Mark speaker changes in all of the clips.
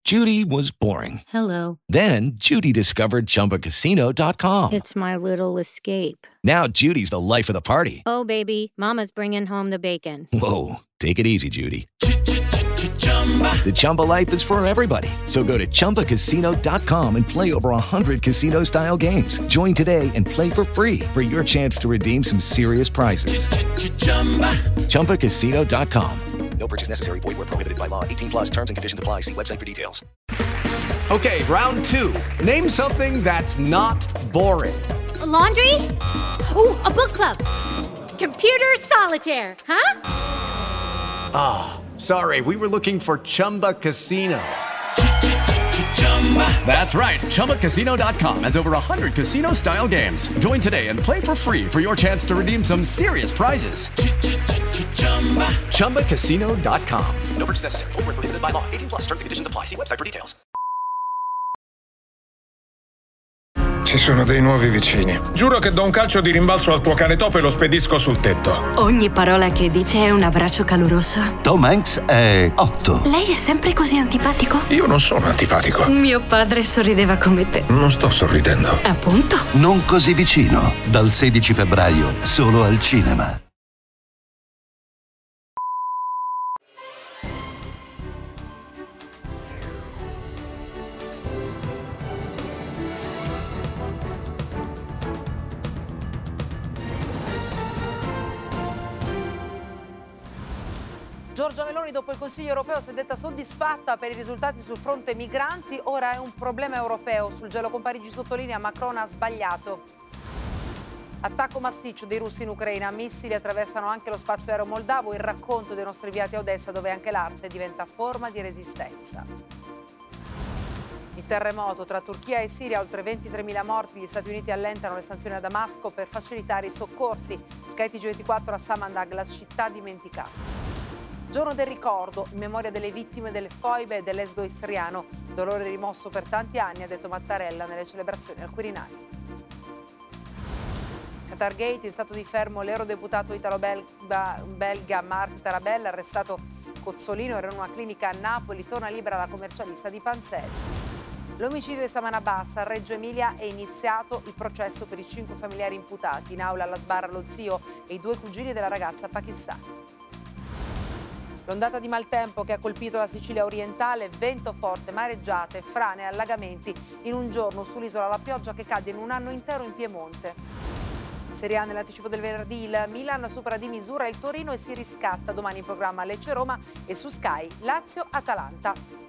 Speaker 1: Judy was boring.
Speaker 2: Hello.
Speaker 1: Then Judy discovered ChumbaCasino.com.
Speaker 2: It's my little escape.
Speaker 1: Now Judy's the life of the party.
Speaker 2: Oh, baby, mama's bringing home the bacon.
Speaker 1: Whoa, take it easy, Judy. The Chumba life is for everybody. So go to ChumbaCasino.com and play over 100 casino-style games. Join today and play for free for your chance to redeem some serious prizes. ChumbaCasino.com. No purchase necessary. Void where prohibited by law. 18 plus terms and conditions apply. See website for details.
Speaker 3: Okay, round two. Name something that's not boring.
Speaker 4: A laundry? Ooh, a book club. Computer solitaire, huh?
Speaker 3: Ah, sorry, we were looking for Chumba Casino. That's right, ChumbaCasino.com has over 100 casino-style games. Join today and play for free for your chance to redeem some serious prizes. ChumbaCasino.com. No purchase necessary. Void where prohibited by law. 18 plus terms and conditions apply. See website for details.
Speaker 5: Ci sono dei nuovi vicini. Giuro che do un calcio di rimbalzo al tuo cane topo e lo spedisco sul tetto.
Speaker 6: Ogni parola che dice è un abbraccio caloroso.
Speaker 7: Tom Hanks è 8.
Speaker 6: Lei è sempre così antipatico?
Speaker 5: Io non sono antipatico.
Speaker 6: Mio padre sorrideva come te.
Speaker 5: Non sto sorridendo.
Speaker 6: Appunto.
Speaker 7: Non così vicino. Dal 16 febbraio, solo al cinema.
Speaker 8: Giorgia Meloni dopo il Consiglio europeo si è detta soddisfatta per i risultati sul fronte migranti, ora è un problema europeo. Sul gelo con Parigi sottolinea Macron ha sbagliato. Attacco massiccio dei russi in Ucraina, missili attraversano anche lo spazio aereo moldavo, il racconto dei nostri inviati a Odessa dove anche l'arte diventa forma di resistenza. Il terremoto tra Turchia e Siria, oltre 23.000 morti, gli Stati Uniti allentano le sanzioni a Damasco per facilitare i soccorsi. Sky TG24 a Samandag, la città dimenticata. Giorno del ricordo, in memoria delle vittime delle foibe e dell'esodo istriano. Dolore rimosso per tanti anni, ha detto Mattarella nelle celebrazioni al Quirinale. Qatargate, in stato di fermo l'eurodeputato italo-belga Mark Tarabella, arrestato Cozzolino, era in una clinica a Napoli, torna libera la commercialista di Panzeri. L'omicidio di Saman Abbas a Reggio Emilia è iniziato il processo per i 5 familiari imputati. In aula alla sbarra lo zio e i 2 cugini della ragazza pakistana. L'ondata di maltempo che ha colpito la Sicilia orientale, vento forte, mareggiate, frane e allagamenti in un giorno sull'isola, la pioggia che cade in un anno intero in Piemonte. Serie A nell'anticipo del venerdì, il Milan supera di misura il Torino e si riscatta. Domani in programma Lecce-Roma e su Sky Lazio-Atalanta.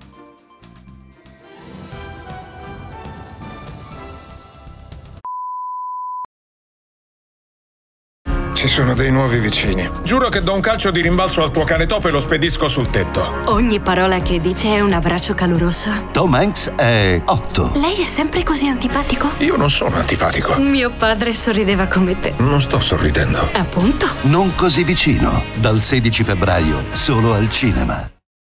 Speaker 5: Ci sono dei nuovi vicini. Giuro che do un calcio di rimbalzo al tuo cane topo e lo spedisco sul tetto.
Speaker 6: Ogni parola che dice è un abbraccio caloroso.
Speaker 7: Tom Hanks è 8.
Speaker 6: Lei è sempre così antipatico?
Speaker 5: Io non sono antipatico.
Speaker 6: Mio padre sorrideva come te.
Speaker 5: Non sto sorridendo.
Speaker 6: Appunto.
Speaker 7: Non così vicino. Dal 16 febbraio, solo al cinema.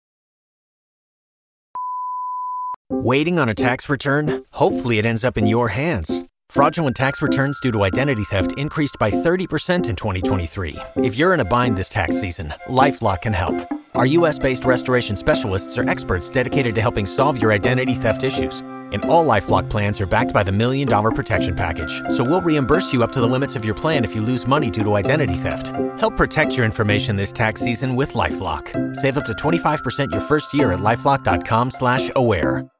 Speaker 9: Waiting on a tax return? Hopefully it ends up in your hands. Fraudulent tax returns due to identity theft increased by 30% in 2023. If you're in a bind this tax season, LifeLock can help. Our U.S.-based restoration specialists are experts dedicated to helping solve your identity theft issues. And all LifeLock plans are backed by the $1 Million Protection Package. So we'll reimburse you up to the limits of your plan if you lose money due to identity theft. Help protect your information this tax season with LifeLock. Save up to 25% your first year at LifeLock.com/aware.